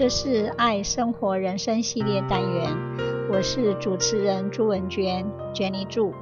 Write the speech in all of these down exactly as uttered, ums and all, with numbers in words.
這是愛生活人生系列單元，我是主持人朱文娟 Jenny 朱。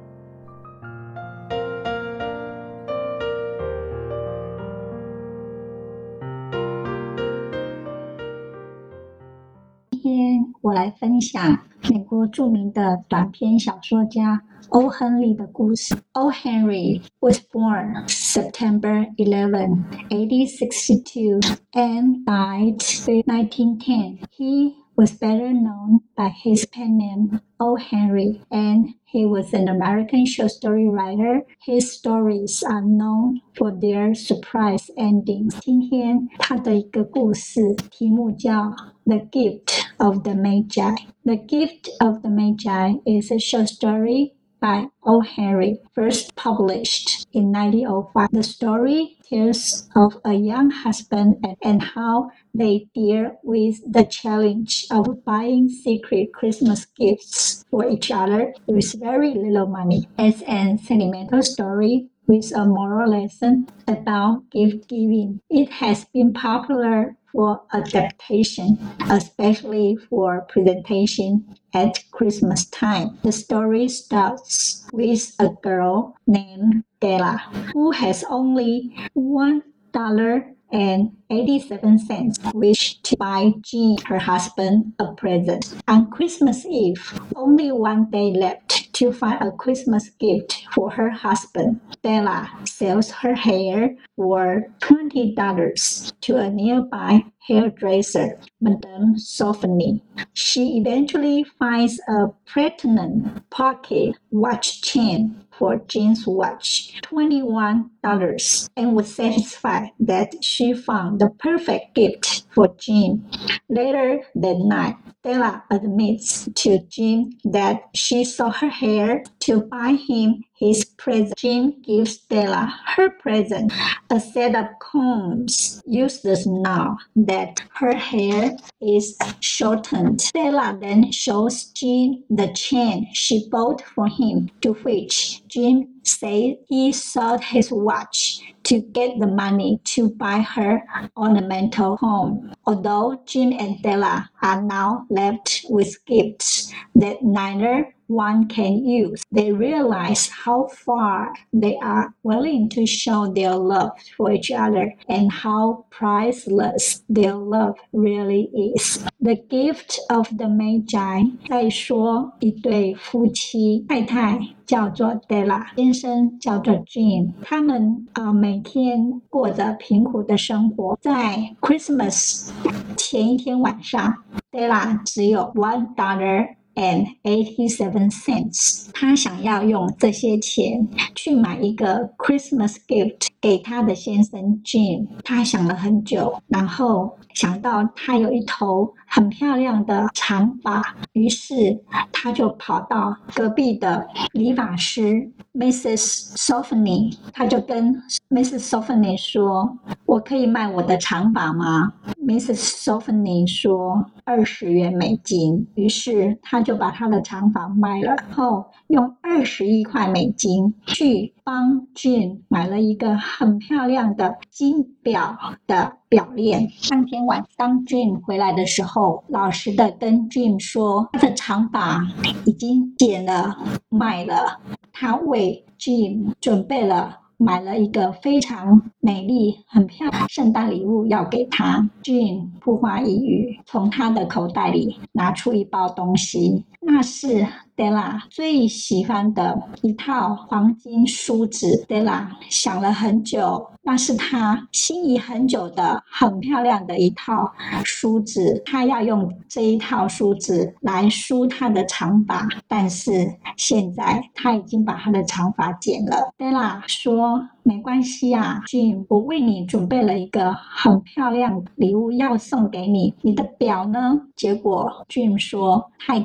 今天我來分享美國著名的短篇小說家欧·亨利的故事。O. Henry was born September eleventh, eighteen sixty-two and died in nineteen ten. He was better known by his pen name O. Henry, and he was an American short story writer. His stories are known for their surprise endings. 今天他的一個故事題目叫 The Gift of the Magi. The Gift of the Magi is a short story by O. Henry, first published in nineteen oh five. The story tells of a young husband and, and how they deal with the challenge of buying secret Christmas gifts for each other with very little money. It's a sentimental story with a moral lesson about gift giving. It has been popular for adaptation, especially for presentation at Christmas time. The story starts with a girl named Della who has only one dollar and eighty-seven cents, which to buy Jean, her husband, a present. On Christmas Eve, only one day left to find a Christmas gift for her husband. Della sells her hair for twenty dollars to a nearby hairdresser, Madame Sophony. She eventually finds a platinum pocket watch chain for Jean's watch, twenty-one dollars, and was satisfied that she found the perfect gift for Jean. Later that night, Della admits to Jean that she sold her hair to buy him his present. Jean gives Della her present, a set of combs, useless now that her hair is shortened. Della then shows Jean the chain she bought for him, to which Jean said he sold his watch to get the money to buy her ornamental comb. Although Jean and Della are now left with gifts that neither one can use, they realize how far they are willing to show their love for each other and how priceless their love really is. The Gift of the Magi 在說一對夫妻，太太叫做 Della， 先生叫做 Jean， 他們、呃、每天過着貧苦的生活。在 Christmas 前一天晚上， Della 只有 one dollar and eighty-seven cents， 他想要用這些錢去買一個 Christmas gift 給他的先生 Jean。 他想了很久，然後想到他有一頭很漂亮的長髮，於是他就跑到隔壁的理髮師 Missus Sophony， 他就跟 Missus Sophony 說，我可以賣我的長髮嗎？ Missus Sophony 說二十元美金，於是他就把他的長髮賣了，然後用二十一塊美金去幫 Jean 買了一個很漂亮的金錶的表鏈。當天晚當 Jean 回來的時候，老實的跟 Jean 說，他的長髮已經剪了賣了，他為 Jean 準備了買了一個非常美麗很漂亮的聖誕禮物要給他。 Jean 不話一語，從他的口袋裡拿出一包東西，那是 Della 最喜歡的一套黃金梳子。 Della 想了很久，那是他心儀很久的很漂亮的一套梳子，他要用這一套梳子來梳他的長髮，但是現在他已經把他的長髮剪了。 Della 說，沒關係啊 Jean， 我為你準備了一個很漂亮的禮物要送給你，你的錶呢？結果 Jean 說他已經沒有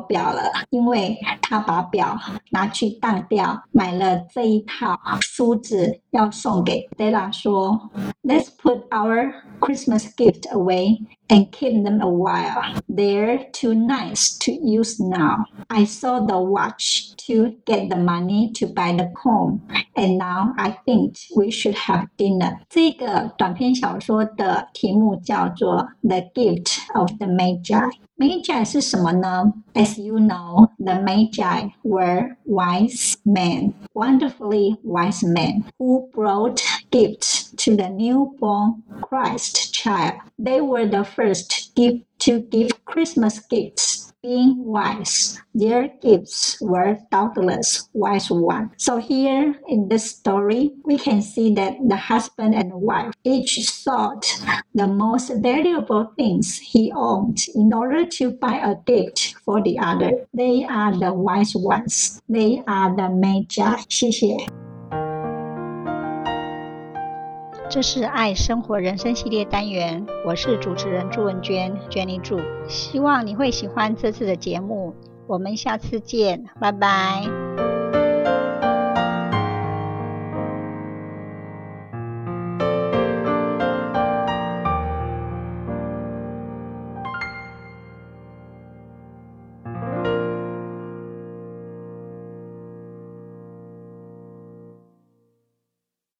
表了，因為他把表拿去當掉，買了這一套梳子要送給 Della 說 Let's put our Christmas gift away and keep them a while. They're too nice to use now. I sold the watch to get the money to buy the comb, and now I think we should have dinner. 這個短篇小說的題目叫做 The Gift of the Magi。Magi 是什麼呢？ As you know, the Magi were wise men, wonderfully wise men, who brought gifts to the newborn Christ child. They were the first gift to give Christmas gifts. Being wise, their gifts were doubtless wise ones. So here in this story, we can see that the husband and wife each sought the most valuable things he owned in order to buy a gift for the other. They are the wise ones. They are the Magi. 謝謝。 這是愛生活人生系列單元，我是主持人朱文娟 Jenny 朱，希望你會喜歡這次的節目，我們下次見，拜拜。